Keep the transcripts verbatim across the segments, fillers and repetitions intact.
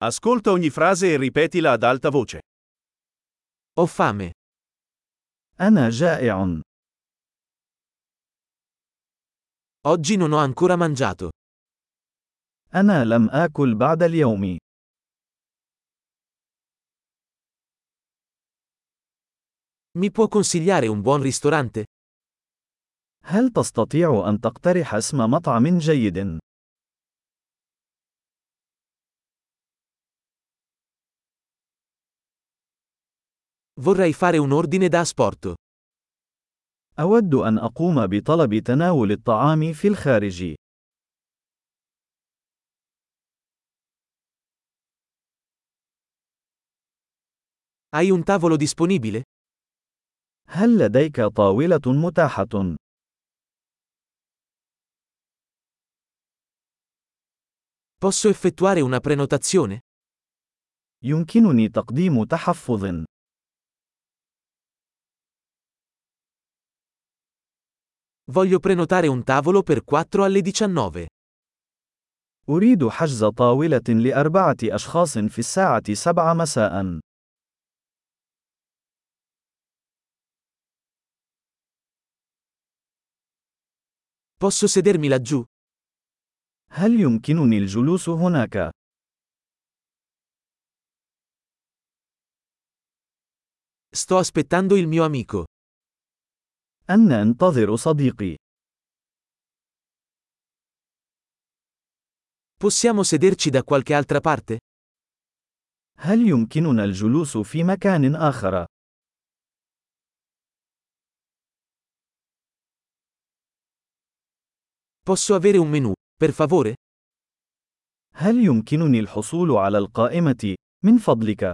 Ascolta ogni frase e ripetila ad alta voce. Ho fame. أنا جائع. Oggi non ho ancora mangiato. أنا لم آكل بعد اليوم. Mi può consigliare un buon ristorante? هل تستطيع أن تقترح اسم مطعم جيد؟ Vorrei fare un ordine da asporto. أود أن أقوم بطلب تناول الطعام في الخارج. Hai un tavolo disponibile? هل لديك طاولة متاحة؟ Posso effettuare una prenotazione? يمكنني تقديم تحفظ. Voglio prenotare un tavolo per quattro alle diciannove. أريد حجز طاولة لأربعة أشخاص في الساعة سبعة مساء. Posso sedermi laggiù? هل يمكنني الجلوس هناك؟ Sto aspettando il mio amico. أنا أنتظر صديقي. Possiamo sederci da qualche altra parte? هل يمكننا الجلوس في مكان آخر؟ Posso avere un menù, per favore? هل يمكنني الحصول على القائمة، من فضلك؟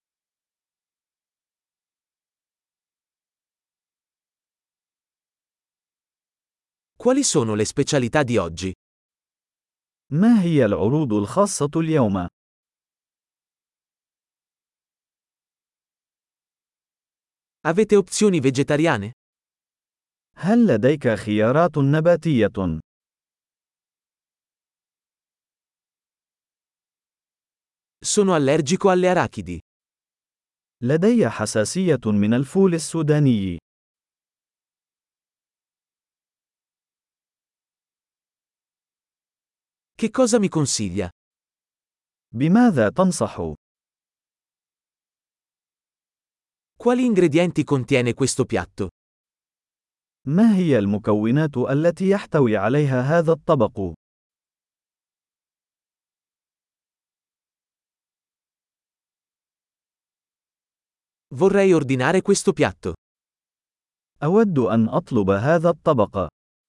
Quali sono le specialità di oggi? ما هي العروض الخاصة اليوم؟ Avete opzioni vegetariane? هل لديك خيارات نباتية؟ Sono allergico alle arachidi. لدي حساسية من الفول السوداني. Che cosa mi consiglia? بماذا تنصح؟ Quali ingredienti contiene questo piatto? ما هي المكونات التي يحتوي عليها هذا الطبق؟ Vorrei ordinare questo piatto. أود أن أطلب هذا الطبق.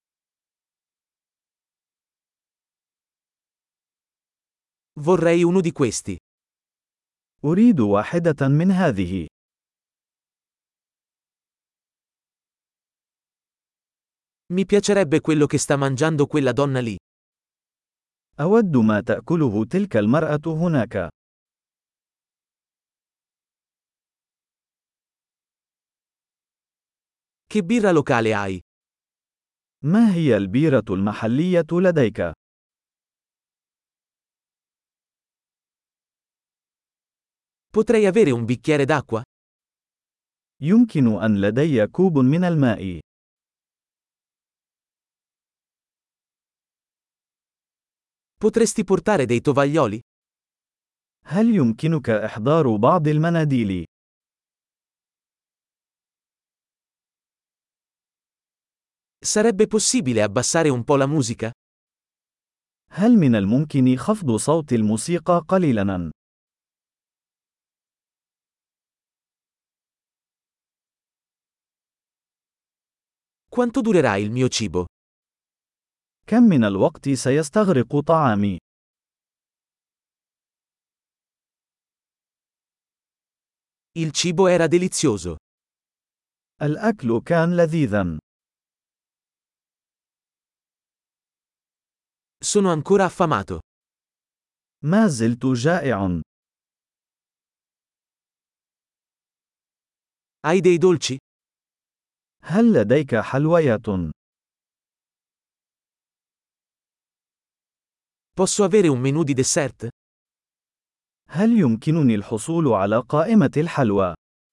Vorrei uno di questi. أريد واحدة من هذه. Mi piacerebbe quello che sta mangiando quella donna lì. أود ما تأكله تلك المرأة هناك. Che birra locale hai? ما هي البيرة المحلية لديك؟ Potrei avere un bicchiere d'acqua? يمكن أن لدي كوب من الماء. Potresti portare dei tovaglioli? هل يمكنك إحضار بعض المناديل؟ Sarebbe possibile abbassare un po' la musica? هل من الممكن خفض صوت الموسيقى قليلاً؟ Quanto durerà il mio cibo? كم من الوقت سيستغرق طعامي؟ Il cibo era delizioso. الأكل كان لذيذاً. Sono ancora affamato. ما زلت جائع. Hai dei dolci? هل لديك حلويات؟ Posso avere un menù di dessert? هل يمكنني الحصول على قائمة الحلوى؟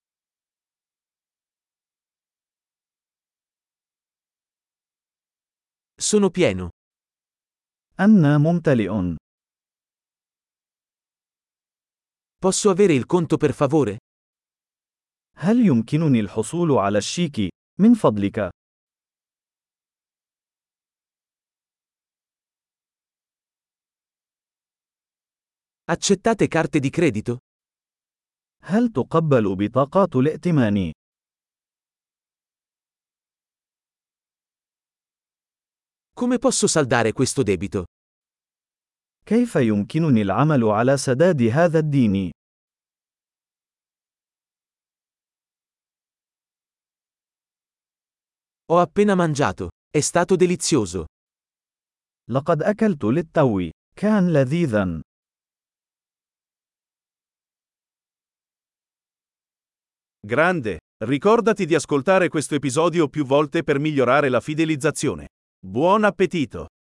Sono pieno. أنا ممتلئ. Posso avere il conto per favore? هل يمكنني الحصول على الشيك؟ من فضلك. Accettate carte di credito? هل تقبل بطاقات الائتمان؟ Come posso saldare questo debito? كيف يمكنني العمل على سداد هذا الدين؟ Ho appena mangiato. È stato delizioso. لقد أكلت للتو. كان لذيذا. Grande! Ricordati di ascoltare questo episodio più volte per migliorare la fidelizzazione. Buon appetito!